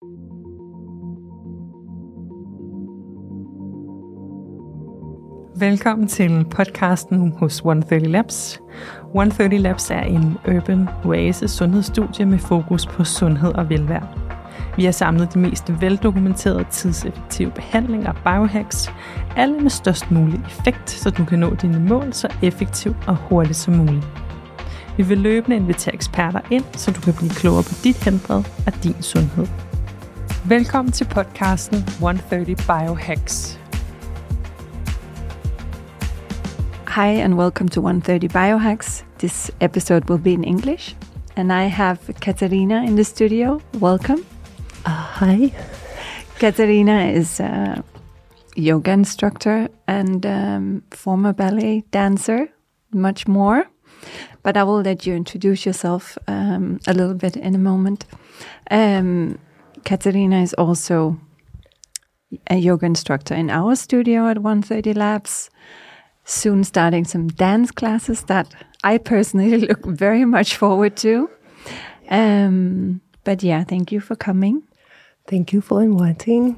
Velkommen til podcasten hos 130 Labs. 130 Labs er en urban oasis sundhedsstudie med fokus på sundhed og velvære. Vi har samlet de mest veldokumenterede tidseffektive behandlinger og biohacks, alle med størst mulig effekt, så du kan nå dine mål så effektivt og hurtigt som muligt. Vi vil løbende invitere eksperter ind, så du kan blive klogere på dit helbred og din sundhed. Velkommen til podcasten 130 Biohacks. Hi and welcome to 130 Biohacks. This episode will be in English. And I have Katarina in the studio. Welcome. Hi. Katarina is a yoga instructor and former ballet dancer, much more. But I will let you introduce yourself a little bit in a moment. Katarina is also a yoga instructor in our studio at 130 Labs. Soon starting some dance classes that I personally look very much forward to. But yeah, thank you for coming. Thank you for inviting.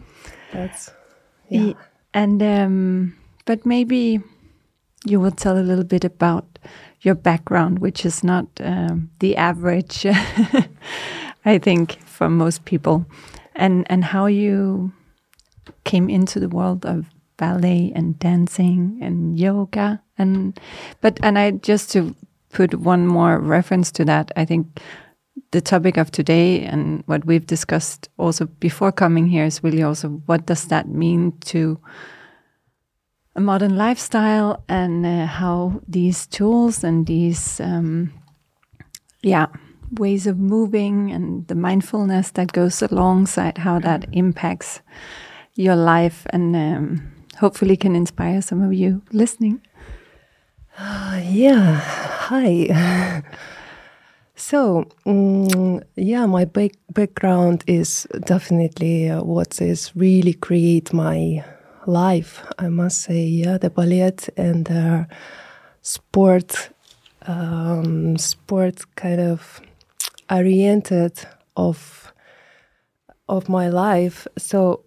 But maybe you will tell a little bit about your background, which is not the average, I think, for most people, and how you came into the world of ballet and dancing and yoga and I just to put one more reference to that, I think the topic of today and what we've discussed also before coming here is really also what does that mean to a modern lifestyle and how these tools and these ways of moving and the mindfulness that goes alongside how that impacts your life and hopefully can inspire some of you listening. Hi. So, my background is definitely what is really create my life. I must say, the ballet and sport kind of oriented of my life. So,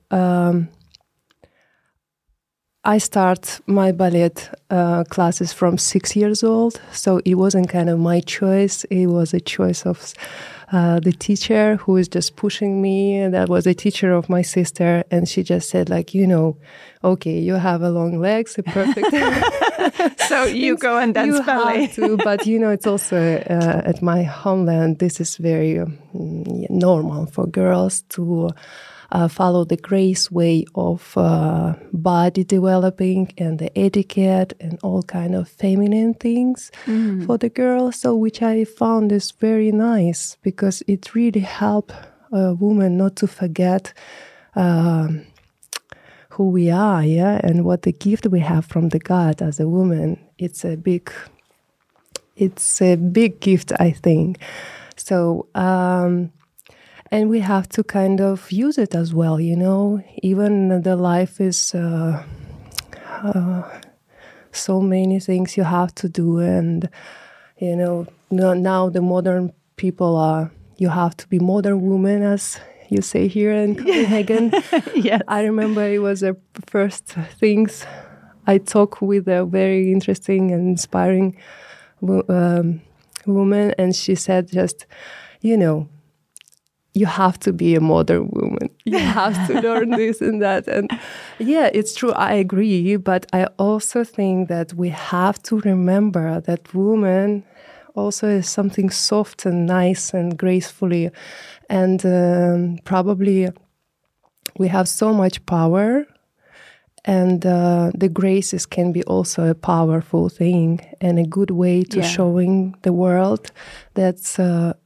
I start my ballet classes from 6 years old, so it wasn't kind of my choice. It was a choice of the teacher who was just pushing me. That was a teacher of my sister, and she just said, okay, you have a long legs, perfect. So you go and dance you ballet. Have to, but it's also at my homeland. This is very normal for girls to follow the grace way of body developing and the etiquette and all kind of feminine things for the girls. So which I found is very nice because it really help a woman not to forget who we are, and what the gift we have from the God as a woman. It's a big gift, I think. So. And we have to kind of use it as well, Even the life is so many things you have to do. And, now the modern people you have to be modern woman, as you say here in Copenhagen. Yes. I remember it was the first things I talked with a very interesting and inspiring woman. And she said just, you have to be a modern woman. You have to learn this and that. And it's true. I agree. But I also think that we have to remember that woman also is something soft and nice and gracefully. And probably we have so much power. And the graces can be also a powerful thing and a good way to showing the world that's...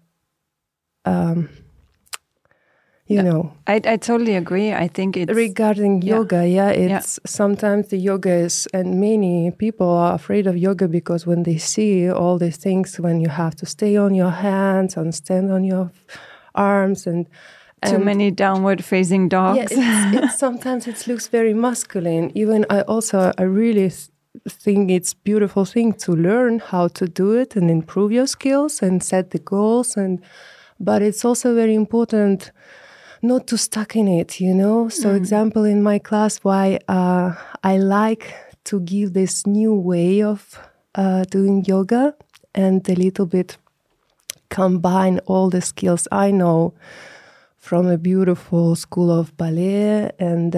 I totally agree. I think it's... Regarding yoga, sometimes the yoga is... And many people are afraid of yoga because when they see all these things, when you have to stay on your hands and stand on your arms and too many downward facing dogs. It's sometimes it looks very masculine. Even I really think it's beautiful thing to learn how to do it and improve your skills and set the goals. But it's also very important not too stuck in it, you know. So example, in my class, why I like to give this new way of doing yoga and a little bit combine all the skills I know from a beautiful school of ballet and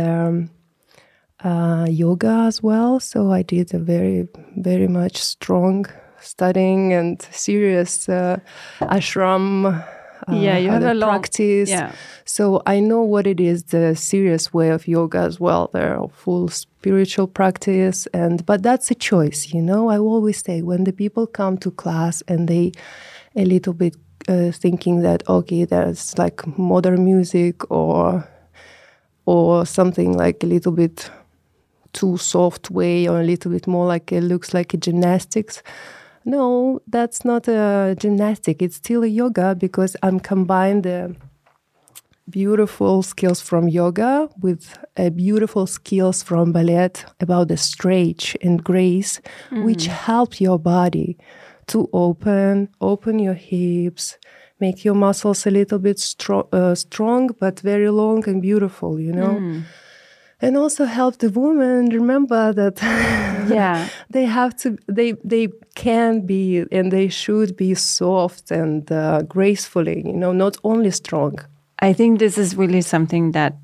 yoga as well. So I did a very, very much strong studying and serious ashram you have a practice. So I know what it is, the serious way of yoga as well. They're full spiritual practice, but that's a choice, you know. I always say when the people come to class and they a little bit thinking that, okay, there's like modern music or something like a little bit too soft way or a little bit more like it looks like a gymnastics. No, that's not a gymnastic. It's still a yoga because I'm combined the beautiful skills from yoga with beautiful skills from ballet about the stretch and grace, which help your body to open your hips, make your muscles a little bit strong, but very long and beautiful, you know. And also help the woman remember that they have to, they can be and they should be soft and gracefully, you know, not only strong. I think this is really something that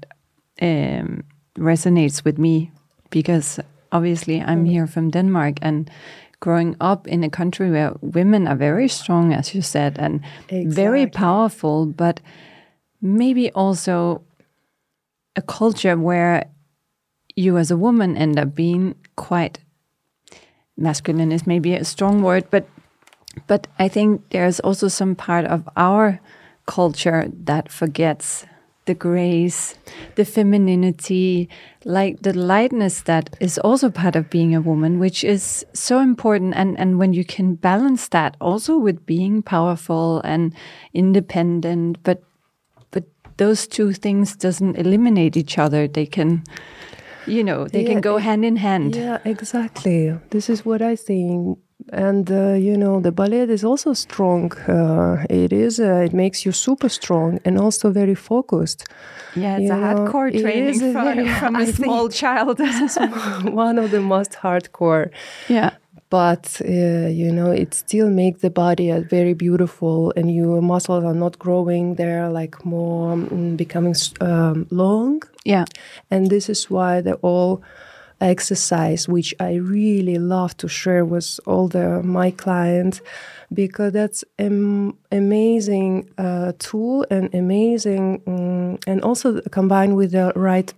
resonates with me because obviously I'm here from Denmark and growing up in a country where women are very strong, as you said, and very powerful, but maybe also a culture where you as a woman end up being quite masculine is maybe a strong word, but I think there's also some part of our culture that forgets the grace, the femininity, like the lightness that is also part of being a woman, which is so important. And when you can balance that also with being powerful and independent, but those two things doesn't eliminate each other. They can, you know, they can go hand in hand. Yeah, exactly. This is what I think. And, you know, the ballet is also strong. It makes you super strong and also very focused. Yeah, it's a hardcore training from a small child. This is one of the most hardcore. Yeah. But, you know, it still makes the body very beautiful and your muscles are not growing. They're like more becoming long. Yeah. And this is why the all exercise, which I really love to share with all my clients, because that's an amazing tool and amazing, and also combined with the right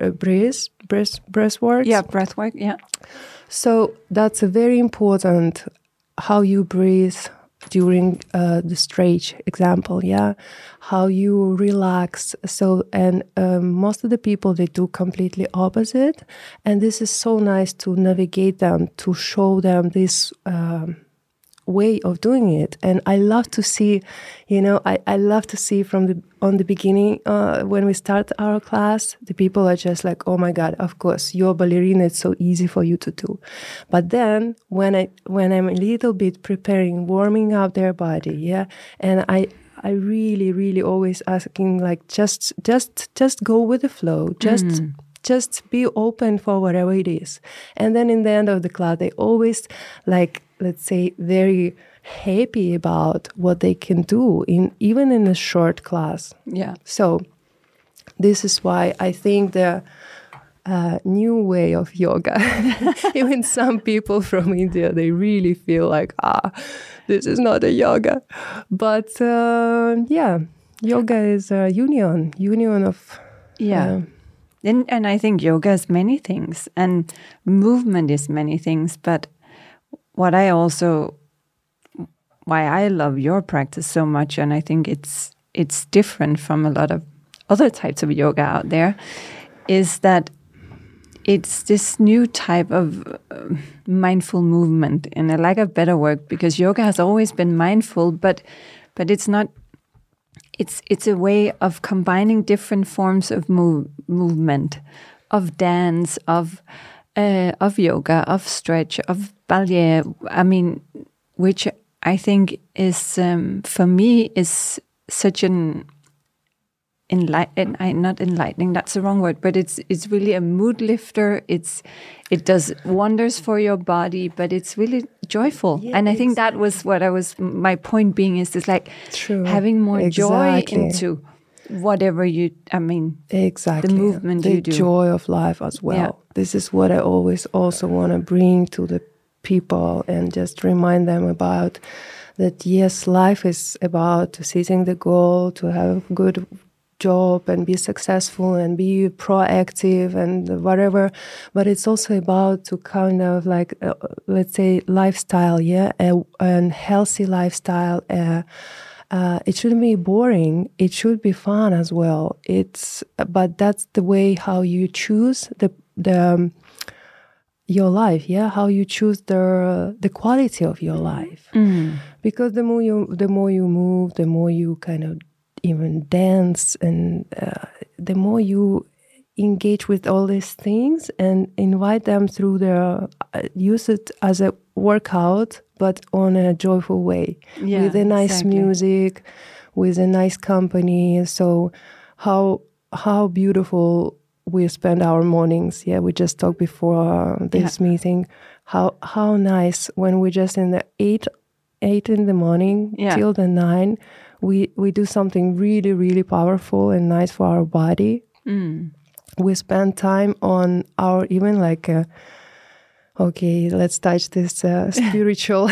breath work. Yeah, breath work, yeah. So that's a very important how you breathe during the stretch example, how you relax. So, and most of the people, they do completely opposite. And this is so nice to navigate them, to show them this way of doing it. And I love to see, you know, I love to see from the beginning, when we start our class, the people are just like, oh my God, of course, you're a ballerina, it's so easy for you to do. But then when I'm a little bit preparing, warming up their body, and I really, really always asking, like, just go with the flow, just be open for whatever it is. And then in the end of the class, they always, like, let's say, very happy about what they can do even in a short class. Yeah. So this is why I think the new way of yoga, even some people from India, they really feel like, this is not a yoga. But yoga is a union of... And I think yoga is many things and movement is many things, but why I love your practice so much, and I think it's different from a lot of other types of yoga out there, is that it's this new type of mindful movement. And I like a better word because yoga has always been mindful, but it's not. It's a way of combining different forms of movement, of dance, of yoga, of stretch, of ballet. I mean, which I think is, for me, is such an not enlightening, that's the wrong word, but it's really a mood lifter. It does wonders for your body, but it's really joyful. Yeah, and I think that was my point being is this, like, having more joy into whatever exactly, the movement the you do. joy of life as well. Yeah. This is what I always also want to bring to the people and just remind them about that. Yes, life is about setting the goal to have a good job and be successful and be proactive and whatever, but it's also about to kind of like let's say lifestyle, a healthy lifestyle. It shouldn't be boring. It should be fun as well. But that's the way how you choose your life, how you choose the quality of your life. Because the more you move, the more you kind of even dance, and the more you engage with all these things and invite them through use it as a workout, but on a joyful way, with a nice music, with a nice company. So how beautiful we spend our mornings. We just talked before this meeting, how nice when we just in the 8 in the morning till the 9, we do something really, really powerful and nice for our body. We spend time on our even like okay, let's touch this spiritual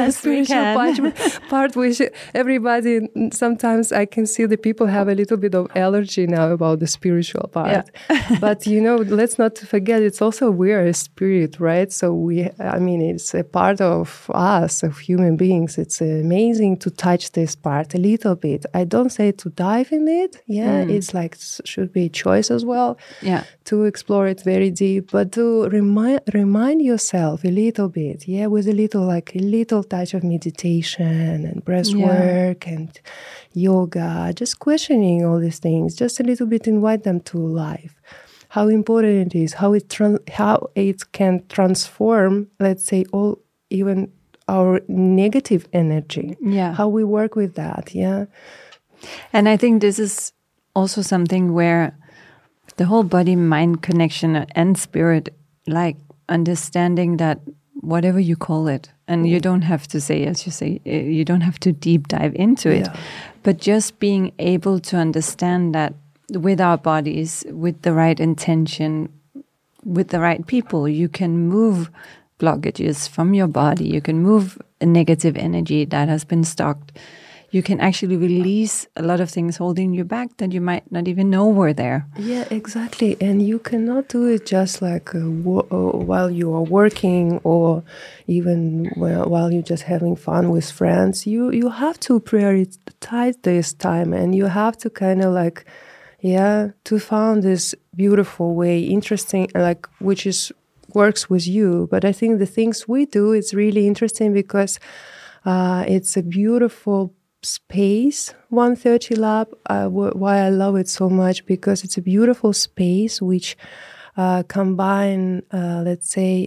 part, which everybody, sometimes I can see the people have a little bit of allergy now about the spiritual part. But, let's not forget, it's also we are a spirit, right? So it's a part of us, of human beings. It's amazing to touch this part a little bit. I don't say to dive in it. It's like, should be a choice as well. To explore it very deep, but to remind yourself a little bit, with a little touch of meditation and breath work and yoga, just questioning all these things, just a little bit invite them to life. How important it is, how it can transform, let's say, even our negative energy. How we work with that. And I think this is also something where the whole body-mind connection and spirit, like understanding that whatever you call it, and you don't have to say, as you say, you don't have to deep dive into it, but just being able to understand that with our bodies, with the right intention, with the right people, you can move blockages from your body, you can move a negative energy that has been stocked. You can actually release a lot of things holding you back that you might not even know were there. Yeah, exactly. And you cannot do it just like while you are working or even while you're just having fun with friends. You have to prioritize this time, and you have to kind of like, to find this beautiful way, interesting, like which works with you. But I think the things we do is really interesting because it's a beautiful space, 130 Lab. Why I love it so much, because it's a beautiful space which combine, let's say,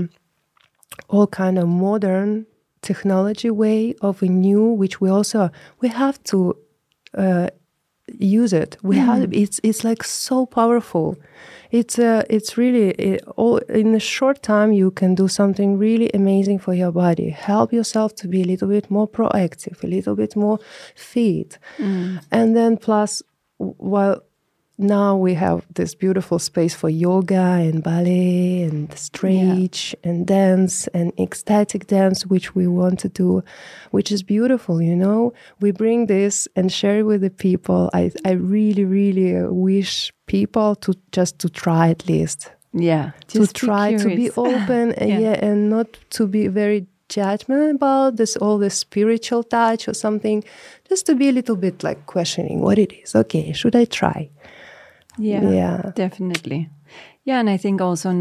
all kind of modern technology way of a new, which we have to use it. It's like so powerful. It's really all in a short time you can do something really amazing for your body. Help yourself to be a little bit more proactive, a little bit more fit, and then plus while now we have this beautiful space for yoga and ballet and stretch and dance and ecstatic dance, which we want to do, which is beautiful, We bring this and share it with the people. I really, really wish people to try at least. To try to be open and not to be very judgmental about this, all the spiritual touch or something, just to be a little bit like questioning what it is. Okay, should I try? Yeah, definitely. Yeah, and I think also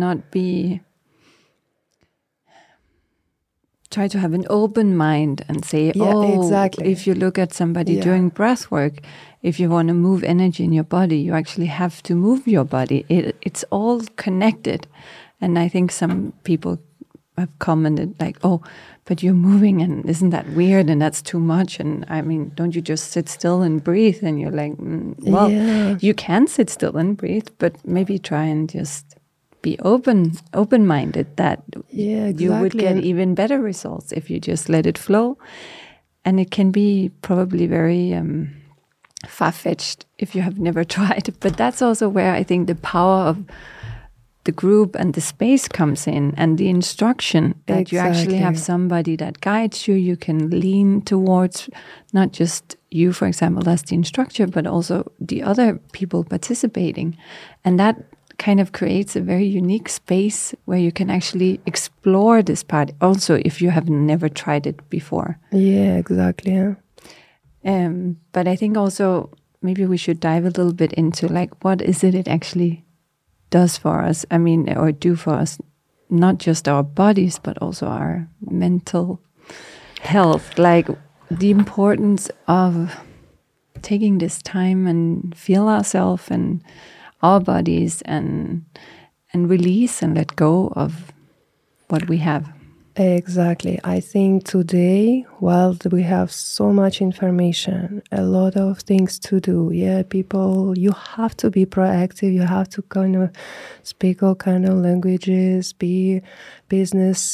try to have an open mind and say, exactly. If you look at somebody doing breath work, if you want to move energy in your body, you actually have to move your body. It's all connected. And I think some people have commented like, "Oh, but you're moving, and isn't that weird? And that's too much. And I mean, don't you just sit still and breathe?" And you're like, "Well, you can sit still and breathe, but maybe try and just be open-minded that you would get even better results if you just let it flow." And it can be probably very far-fetched if you have never tried. But that's also where I think the power of the group and the space comes in, and the instruction that you actually have somebody that guides you. You can lean towards not just you, for example, as the instructor, but also the other people participating. And that kind of creates a very unique space where you can actually explore this part also if you have never tried it before. Yeah, exactly. Yeah. But I think also maybe we should dive a little bit into like, what is it actually does for us? I mean, or do for us, not just our bodies, but also our mental health. Like the importance of taking this time and feel ourselves and our bodies and release and let go of what we have. Exactly. I think today, while we have so much information, a lot of things to do, people, you have to be proactive. You have to kind of speak all kind of languages, be business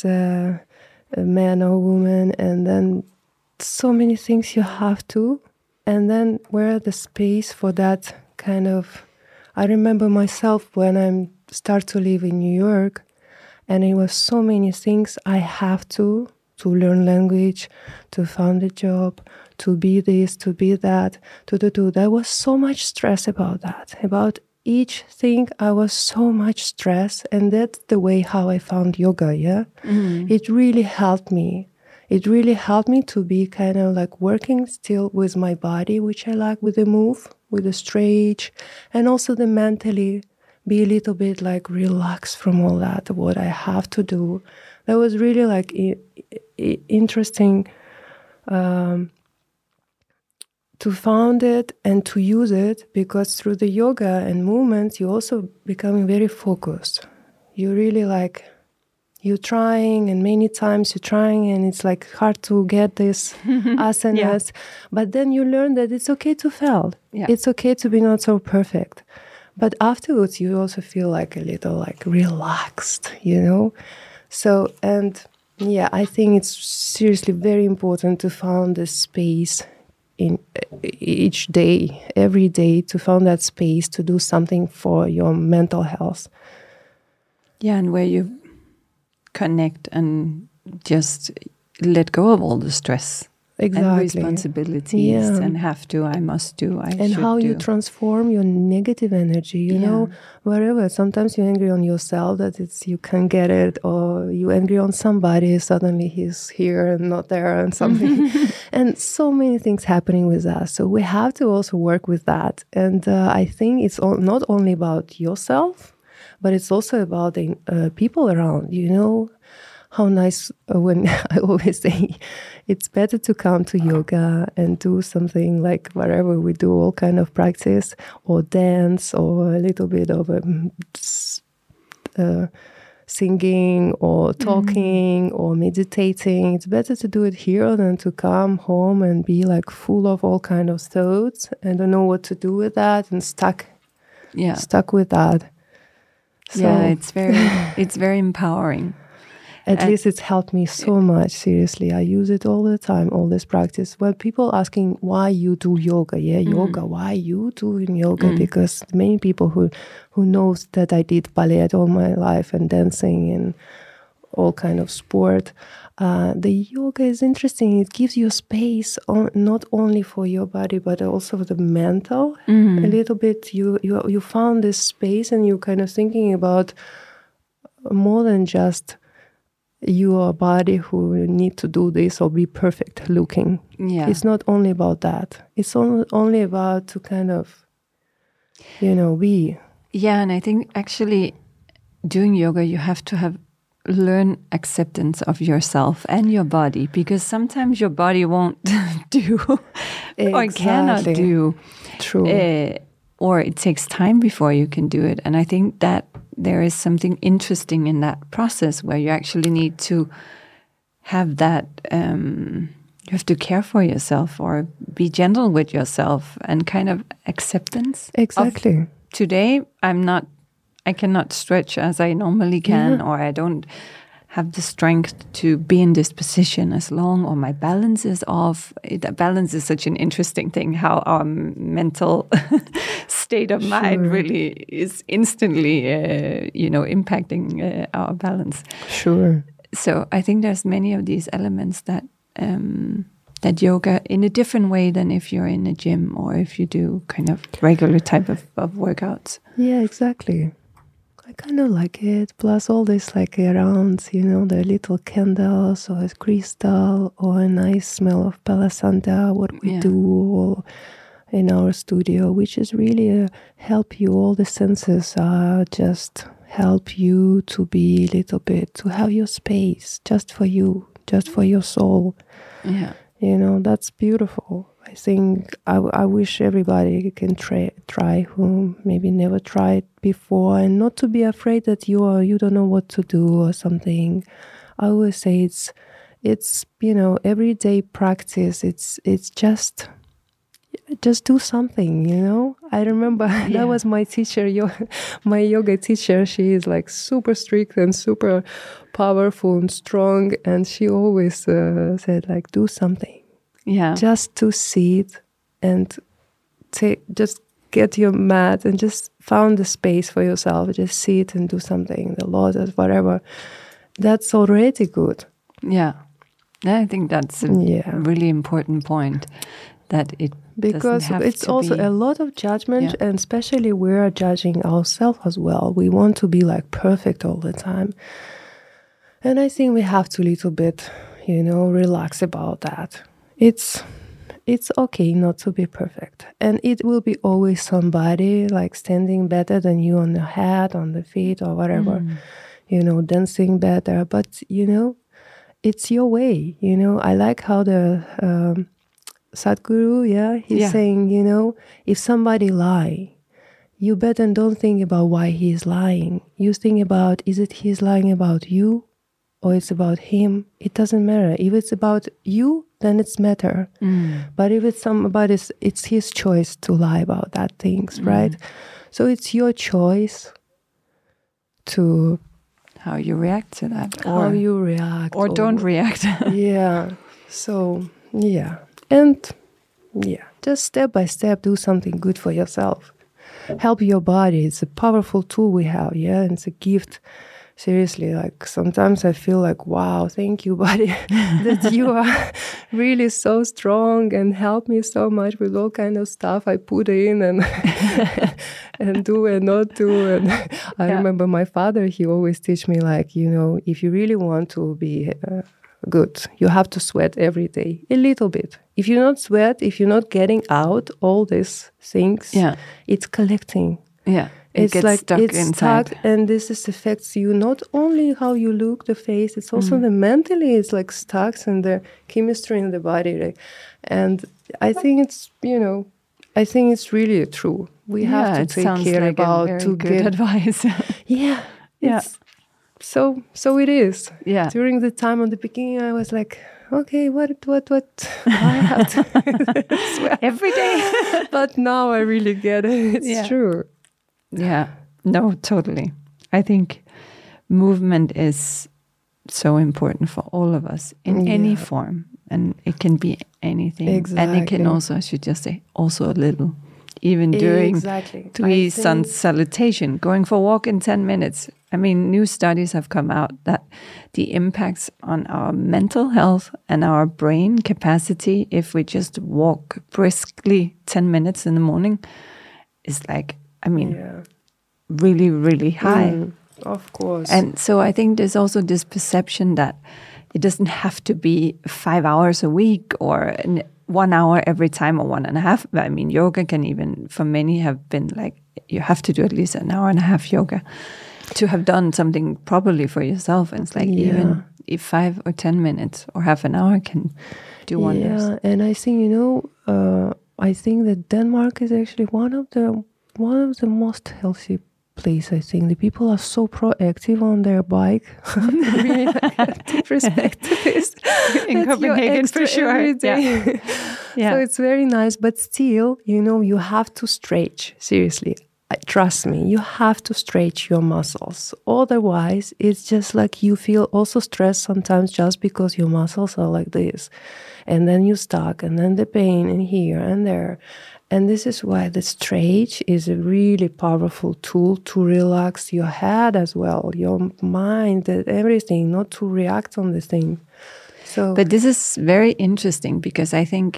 man or woman, and then so many things you have to. And then where the space for that kind of... I remember myself when I start to live in New York, and it was so many things I have to learn language, to find a job, to be this, to be that, to do. There was so much stress about that. About each thing, I was so much stress, and that's the way how I found yoga, Mm-hmm. It really helped me. It really helped me to be kind of like working still with my body, which I like, with the move, with the stretch, and also the mentally be a little bit like relaxed from all that, what I have to do. That was really like interesting to find it and to use it, because through the yoga and movements, you also becoming very focused. You really like, you're trying, and many times you're trying, and it's like hard to get this asanas. But then you learn that it's okay to fail. Yeah. It's okay to be not so perfect. But afterwards, you also feel like a little like relaxed, So, and I think it's seriously very important to find the space in each day, every day, to find that space to do something for your mental health. Yeah, and where you connect and just let go of all the stress. Exactly. And responsibilities and have to, I must do, I and should how do. You transform your negative energy, you know, wherever. Sometimes you're angry on yourself that you can't get it, or you're angry on somebody, suddenly he's here and not there and something. And so many things happening with us. So we have to also work with that. And I think it's not only about yourself, but it's also about the people around, How nice when I always say it's better to come to yoga and do something like wherever we do all kind of practice, or dance, or a little bit of singing or talking or meditating. It's better to do it here than to come home and be like full of all kind of thoughts and don't know what to do with that and stuck with that. So, it's very empowering. At least it's helped me so much, seriously. I use it all the time, all this practice. Well, people asking why you do yoga. Yoga, why you doing yoga? Because many people who knows that I did ballet all my life and dancing and all kind of sport. The yoga is interesting. It gives you space, not only for your body, but also the mental. A little bit, you found this space and you're kind of thinking about more than just your body who need to do this or be perfect looking. Yeah. It's not only about that. It's only about to kind of, be. Yeah, and I think actually doing yoga, you have to learn acceptance of yourself and your body, because sometimes your body won't do or cannot do. True. Or it takes time before you can do it. And I think that there is something interesting in that process where you actually need to have that, you have to care for yourself or be gentle with yourself and kind of acceptance. Exactly. Today, I cannot stretch as I normally can, or I don't have the strength to be in this position as long, or my balance is off. Balance is such an interesting thing, how our mental state of mind really is instantly, impacting our balance. Sure. So I think there's many of these elements that that yoga, in a different way than if you're in a gym or if you do kind of regular type of workouts. Yeah, exactly. I kind of like it. Plus all this like around, the little candles or a crystal or a nice smell of Palo Santo, what we do in our studio, which is really help you. All the senses just help you to be a little bit, to have your space just for you, just for your soul. Yeah. That's beautiful. I think I wish everybody can try who maybe never tried before, and not to be afraid that you don't know what to do or something. I always say it's everyday practice. It's just do something. I remember that was my teacher, my yoga teacher. She is like super strict and super powerful and strong, and she always said like, do something. Yeah. Just to sit and just get your mat and just found the space for yourself. Just sit and do something, the lotus, whatever. That's already good. Yeah. I think that's a really important point, that because it's also a lot of judgment, and especially we're judging ourselves as well. We want to be like perfect all the time. And I think we have to little bit, relax about that. It's okay not to be perfect, and it will be always somebody like standing better than you on the head, on the feet, or whatever, dancing better. But it's your way. I like how the Sadhguru, he's saying, if somebody lie, you better don't think about why he's lying. You think about, is it he's lying about you, or it's about him? It doesn't matter. If it's about you, then it's matter. But if it's somebody's, it's his choice to lie about that things, right? So it's your choice to how you react to that, how you react, or don't react. So and just step by step, do something good for yourself. Help your body. It's a powerful tool we have. And it's a gift. Seriously, like sometimes I feel like, wow, thank you, body, that you are really so strong and help me so much with all kind of stuff I put in and and do and not do. And I remember my father, he always teach me like, if you really want to be good, you have to sweat every day, a little bit. If you not sweat, if you're not getting out all these things, it's collecting. Yeah. It's like stuck inside. Stuck, and this affects you not only how you look, the face, it's also the mentally, it's like stuck and the chemistry in the body. Right? And I think it's, I think it's really true. We have to take care like about a very to good get advice. So it is. Yeah. During the time on the beginning, I was like, okay, what? I have to sweat every day. But now I really get it. It's true. Yeah, no, totally. I think movement is so important for all of us in any form, and it can be anything. Exactly. And it can also, I should just say, also a little. Even during three sun salutation, going for a walk in 10 minutes. I mean, new studies have come out that the impacts on our mental health and our brain capacity, if we just walk briskly 10 minutes in the morning, is like, really, really high. Of course. And so I think there's also this perception that it doesn't have to be 5 hours a week or 1 hour every time or 1.5. I mean, yoga can even, for many, have been like, you have to do at least 1.5 hours yoga to have done something properly for yourself. And it's like even if 5 or 10 minutes or half an hour can do wonders. Yeah, and I think, I think that Denmark is actually one of the most healthy place. I think the people are so proactive on their bike. Really, I have to respect this. In Copenhagen, for sure. Yeah. So it's very nice, but still, you have to stretch. Seriously, trust me, you have to stretch your muscles. Otherwise, it's just like you feel also stressed sometimes just because your muscles are like this. And then you're stuck, and then the pain in here and there. And this is why the stretch is a really powerful tool to relax your head as well, your mind, everything, not to react on the thing. But this is very interesting because I think,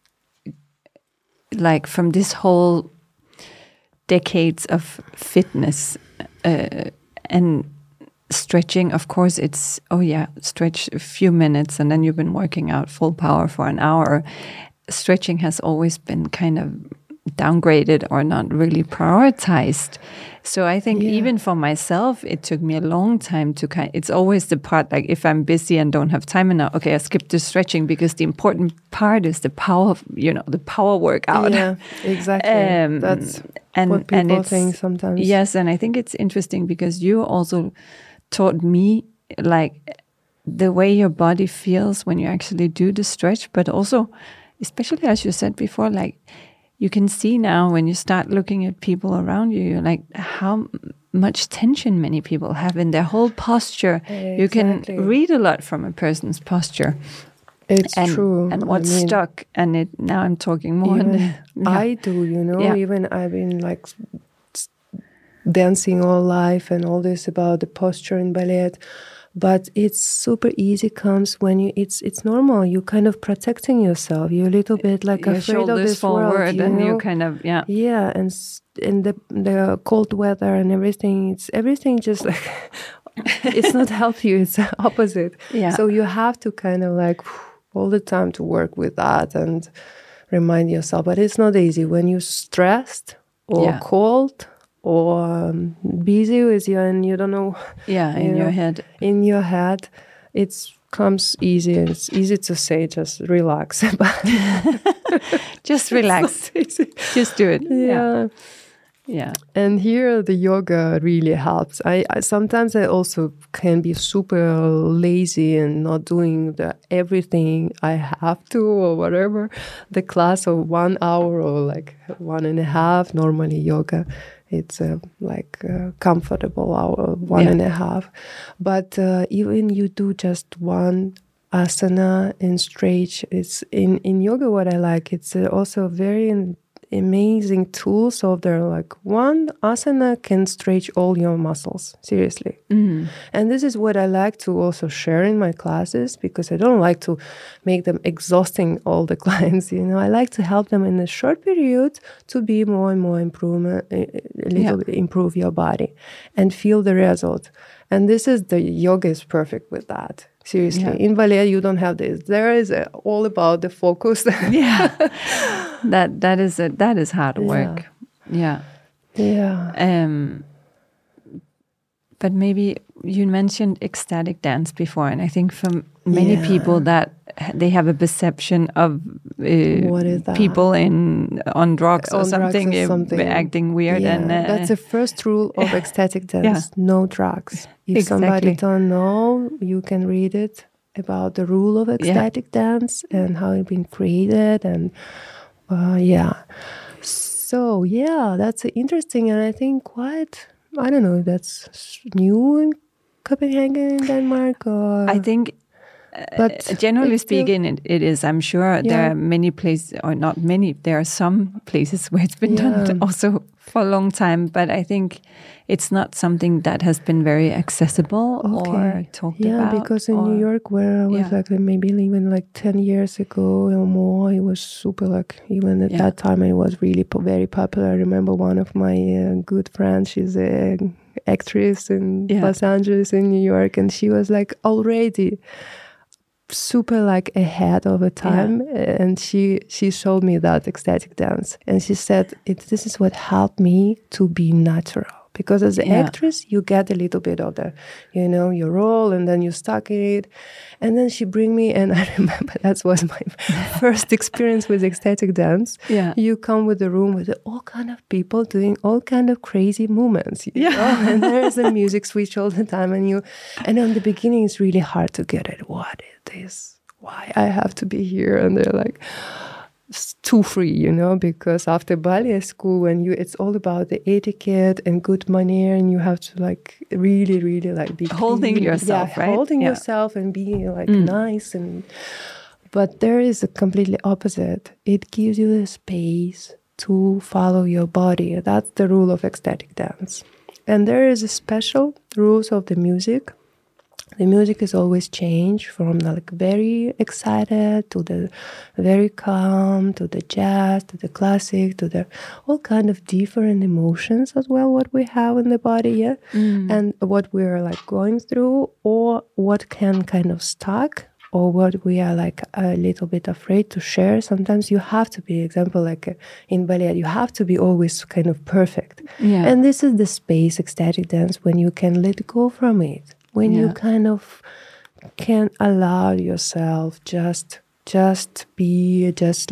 like, from this whole decades of fitness and stretching, of course, it's, stretch a few minutes and then you've been working out full power for an hour. Stretching has always been kind of downgraded or not really prioritized. So I think even for myself, it took me a long time to it's always the part, like if I'm busy and don't have time enough, I skip the stretching because the important part is the power, the power workout. Yeah, exactly. That's what people think sometimes. Yes, and I think it's interesting because you also taught me like the way your body feels when you actually do the stretch, but also, especially as you said before, like you can see now when you start looking at people around you, you're like how much tension many people have in their whole posture. Exactly. You can read a lot from a person's posture. It's true. And what's stuck. And now I'm talking more. I do, even I've been like dancing all life and all this about the posture in ballet. But it's super easy comes when it's normal. You kind of protecting yourself. You're a little bit like your afraid of this world. And you kind of, Yeah, and in the cold weather and everything, everything just like, it's not help you, it's the opposite. Yeah. So you have to kind of like all the time to work with that and remind yourself. But it's not easy when you're stressed or cold or busy with you and you don't know. Yeah, in your head. In your head, it comes easy. It's easy to say, just relax. Just relax. Just do it. Yeah. And here the yoga really helps. I sometimes I also can be super lazy and not doing everything I have to or whatever. The class of 1 hour or like 1.5, normally yoga. It's comfortable hour, 1.5. But even you do just one asana and stretch. It's in yoga what I like. It's also very amazing tool. So there like one asana can stretch all your muscles, seriously. Mm. And this is what I like to also share in my classes because I don't like to make them exhausting all the clients. I like to help them in a short period to be more and more improve your body and feel the result. And this is the yoga is perfect with that. Seriously, in ballet you don't have this. There is all about the focus. That is hard work. Yeah. But maybe you mentioned ecstatic dance before, and I think for many people that they have a perception of people on drugs or something, acting weird. Yeah. And that's the first rule of ecstatic dance: no drugs. If somebody don't know, you can read it about the rule of ecstatic dance and how it's been created, and So that's interesting, and I think quite. I don't know. That's new in Copenhagen, Denmark, or I think. But generally speaking, it is. I'm sure there are many places, or not many. There are some places where it's been done also for a long time. But I think it's not something that has been very accessible or talked about. Yeah, because in New York, where I was like maybe even like 10 years ago or more, it was super like even at that time it was really very popular. I remember one of my good friends. She's a actress in Los Angeles in New York, and she was like already super like ahead of a time, and she showed me that ecstatic dance, and she said this is what helped me to be natural, Because as an actress, you get a little bit of the, your role, and then you stuck in it. And then she bring me, and I remember that was my first experience with ecstatic dance. Yeah. You come with a room with all kind of people doing all kind of crazy movements. You know? And there's a music switch all the time. And in the beginning, it's really hard to get it. What is this? Why I have to be here? And they're like, it's too free, because after ballet school, it's all about the etiquette and good manner, and you have to like really, really like be holding clean. yourself, right? Holding yourself and being like nice. But there is a completely opposite. It gives you the space to follow your body. That's the rule of ecstatic dance. And there is a special rules of the music. The music is always changed from like very excited to the very calm, to the jazz, to the classic, to the all kind of different emotions as well, what we have in the body, and what we're like going through, or what can kind of stuck, or what we are like a little bit afraid to share. Sometimes you have to be, example, like in ballet, you have to be always kind of perfect. Yeah. And this is the space, ecstatic dance, when you can let go from it. When you kind of can allow yourself just be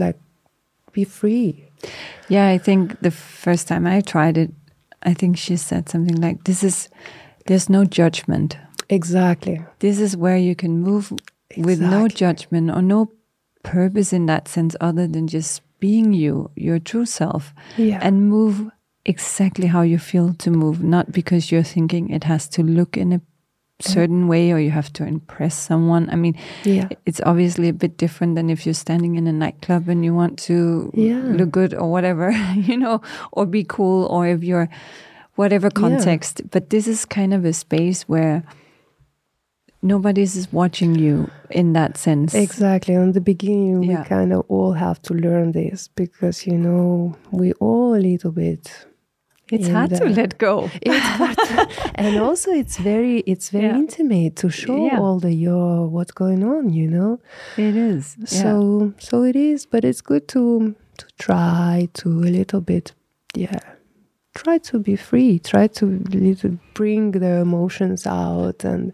free. Yeah, I think the first time I tried it, I think she said something like, there's no judgment. Exactly. This is where you can move with no judgment or no purpose in that sense other than just being your true self, and move exactly how you feel to move, not because you're thinking it has to look in a certain way or you have to impress someone. I mean, it's obviously a bit different than if you're standing in a nightclub and you want to look good or whatever, or be cool, or if you're whatever context. But this is kind of a space where nobody's watching you in that sense. Exactly. In the beginning, we kind of all have to learn this because, we all a little bit... It's hard to let go. It's hard and also it's very intimate to show all what's going on, It is. So it is, but it's good to try to a little bit, try to be free, try to bring the emotions out, and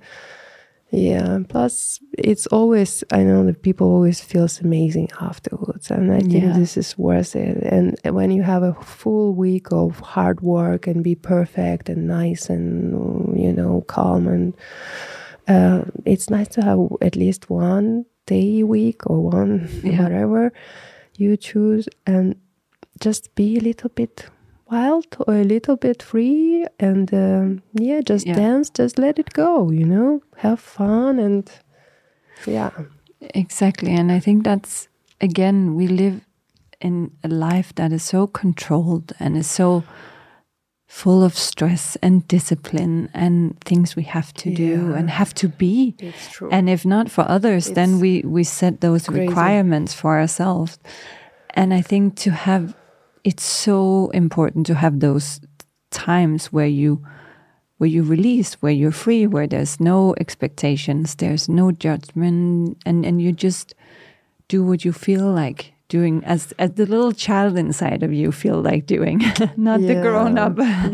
plus it's always, I know that people always feels amazing afterwards, and I think this is worth it. And when you have a full week of hard work and be perfect and nice and calm, and it's nice to have at least one day a week or one whatever you choose, and just be a little bit wild or a little bit free, and dance, just let it go, have fun, and exactly. And I think that's, again, we live in a life that is so controlled and is so full of stress and discipline and things we have to do and have to be. It's true. And if not for others, then we set those requirements for ourselves. And I think it's so important to have those times where you release, where you're free, where there's no expectations, there's no judgment, and you just do what you feel like doing, as the little child inside of you feel like doing, not the grown up.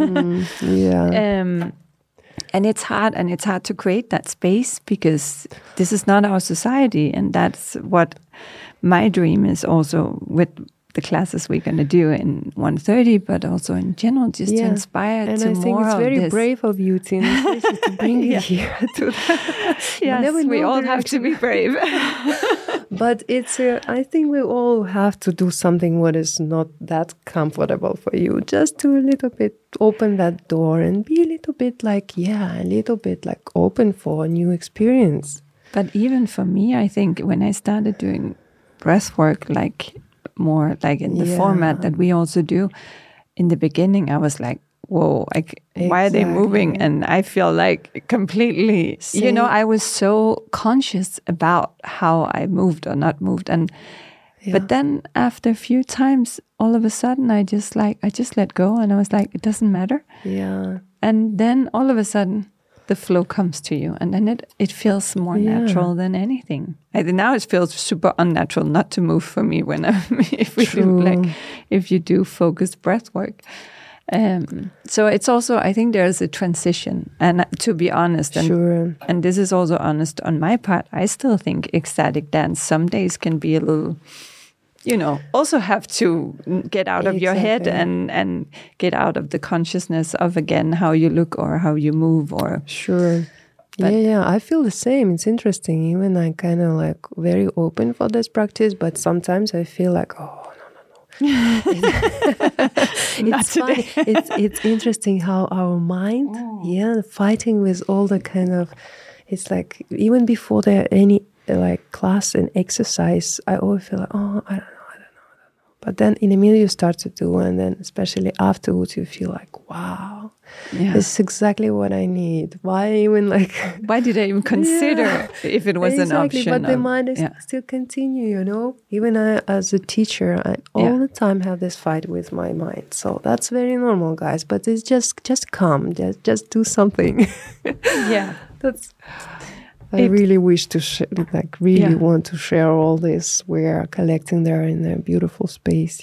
And it's hard to create that space because this is not our society, and that's what my dream is also with the classes we're going to do in 130, but also in general, just to inspire and to more of this. And I think it's very brave of you, Tina, to bring it here. Yes, we all have to be brave. But I think we all have to do something what is not that comfortable for you, just to a little bit open that door and be a little bit like, open for a new experience. But even for me, I think when I started doing breath work, more like in the format that we also do, in the beginning I was like, whoa, why are they moving? And I feel like completely, I was so conscious about how I moved or not moved. And but then after a few times, all of a sudden I just let go, and I was like, it doesn't matter. Yeah. And then all of a sudden the flow comes to you, and then it feels more natural than anything. Now it feels super unnatural not to move for me if you do focused breath work. So it's also, I think there's a transition. And to be honest, and this is also honest on my part, I still think ecstatic dance some days can be a little, also have to get out of your head and get out of the consciousness of, again, how you look or how you move or... Sure. Yeah, I feel the same. It's interesting. Even I kind of like very open for this practice, but sometimes I feel like, no. It's funny. It's interesting how our mind, fighting with all the kind of, it's like even before there any like class and exercise, I always feel like, I don't know. But then in a minute you start to do, and then especially afterwards you feel like, wow, this is exactly what I need. Why did I even consider if it was an option? But the mind is still continue, Even I, as a teacher, I all the time have this fight with my mind. So that's very normal, guys. But it's just come, just do something. I really wish to want to share all this. We are collecting there in a beautiful space.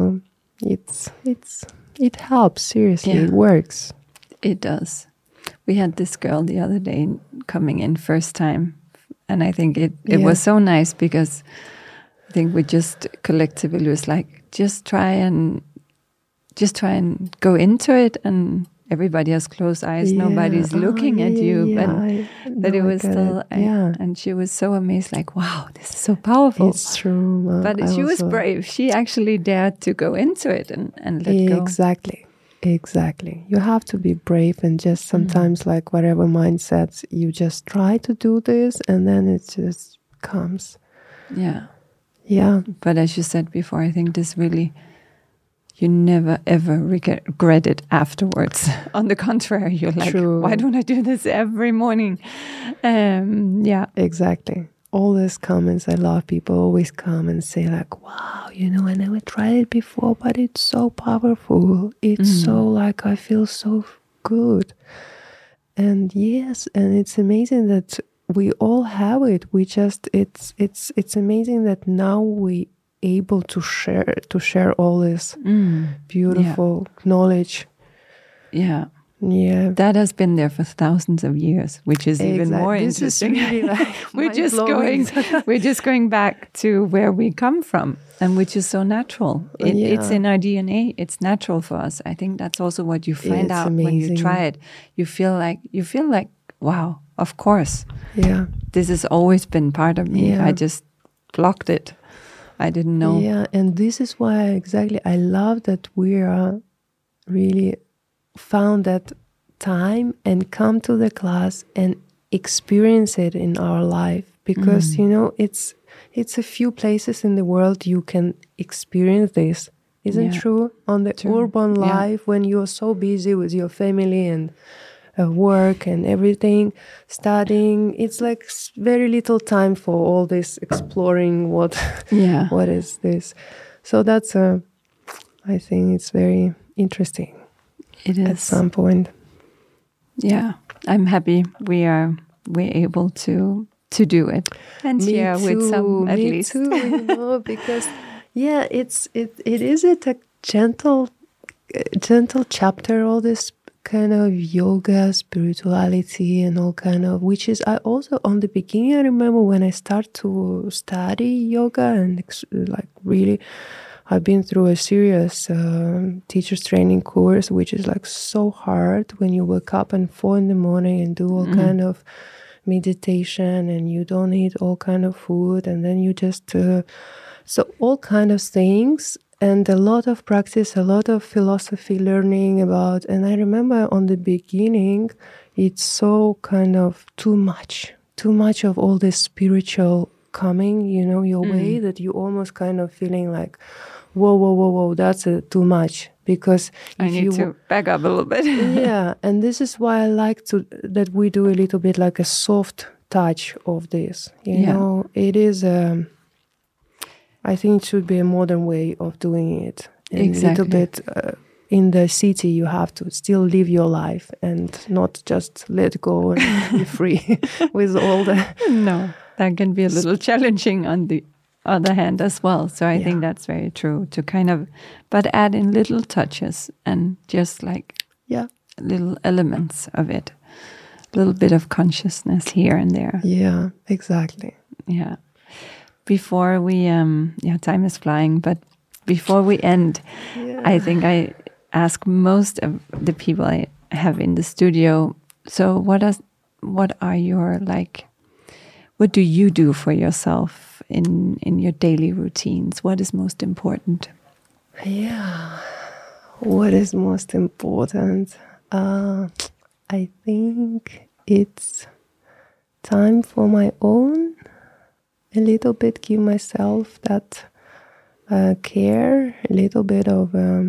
It helps. Seriously, it works. It does. We had this girl the other day coming in first time, and I think it was so nice because I think we just collectively was like, just try and go into it, and everybody has closed eyes. Nobody's looking at you, but it was still, and she was so amazed, like, wow, this is so powerful. It's true. But she was brave. She actually dared to go into it and let go. Exactly. You have to be brave, and just sometimes like whatever mindset, you just try to do this, and then it just comes. Yeah. But as you said before, I think this really... You never, ever regret it afterwards. On the contrary, you're like, why don't I do this every morning? Exactly. All these comments, I love people always come and say like, wow, I never tried it before, but it's so powerful. It's so like, I feel so good. And yes, and it's amazing that we all have it. We just, it's amazing that now we able to share all this beautiful knowledge. That has been there for thousands of years, which is even more interesting. This is really like we're just going back to where we come from, and which is so natural. It's in our DNA. It's natural for us. I think that's also what you find out when you try it. You feel like wow, of course. Yeah, this has always been part of me. I just blocked it. I didn't know. Yeah, and this is why I love that we are really found that time and come to the class and experience it in our life, because it's a few places in the world you can experience this. Isn't true? On the urban life, when you're so busy with your family and work and everything, studying, it's like very little time for all this exploring what is this. So that's I think it's very interesting. It is at some point. I'm happy we're able to do it and share with some at least. Me too, because it is a gentle chapter, all this kind of yoga, spirituality, and all kind of, which is I also on the beginning. I remember when I started to study yoga and like really, I've been through a serious teacher's training course, which is like so hard when you wake up at 4 a.m. and do all kind of meditation, and you don't eat all kind of food, and then you just so all kind of things. And a lot of practice, a lot of philosophy learning about. And I remember on the beginning, it's so kind of too much of all this spiritual coming, your way, that you almost kind of feeling like, whoa, that's too much. Because I need to back up a little bit. And this is why I like that we do a little bit like a soft touch of this. It is I think it should be a modern way of doing it. And a little bit in the city, you have to still live your life and not just let go and be free with all the... No, that can be a little challenging on the other hand as well. So I think that's very true, to kind of, but add in little touches and just like little elements of it, a little bit of consciousness here and there. Yeah, exactly. Yeah. Before we, time is flying, but before we end, I think I ask most of the people I have in the studio, so what are your, like, what do you do for yourself in your daily routines? What is most important? Yeah, what is most important? I think it's time for my own, a little bit give myself that care, a little bit of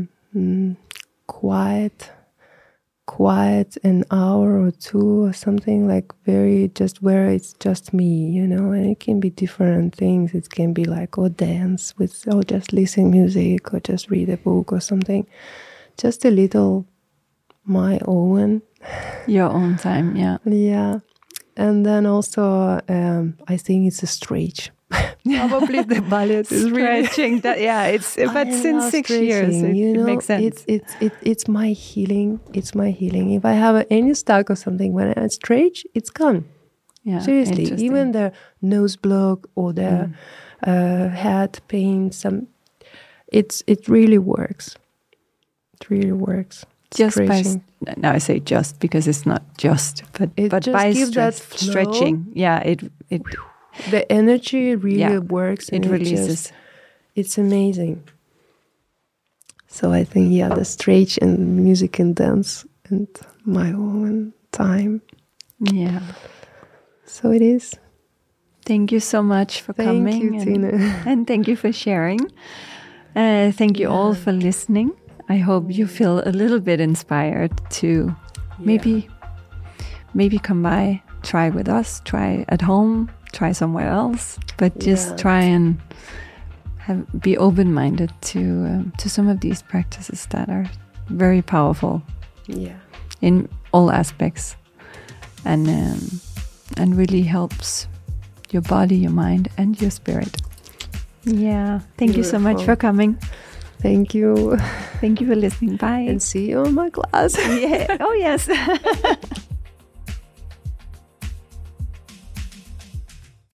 quiet an hour or two or something, like very just where it's just me, you know. And it can be different things. It can be like dance with, or just listen music, or just read a book or something. Just a little my own. Your own time, yeah. Yeah. And then also I think it's a stretch. Probably the ballet is stretching. That but since 6 years, it makes sense. It's my healing. It's my healing. If I have any stuck or something, when I stretch, it's gone. Yeah, seriously. Even the nose block or the head pain, it really works. It really works. Just by now, I say just because it's not just, but just by stretching, it. The energy really works. It releases. It's amazing. So I think, the stretch and music and dance and my own time. Yeah. So it is. Thank you so much for coming. Thank you, Tina. And thank you for sharing. Thank you all for listening. I hope you feel a little bit inspired to maybe come by, try with us, try at home, try somewhere else, but just try and be open-minded to some of these practices that are very powerful in all aspects, and really helps your body, your mind, and your spirit. Yeah, thank you so much for coming. Thank you. Thank you for listening. Bye. And see you on my class. Oh, yes.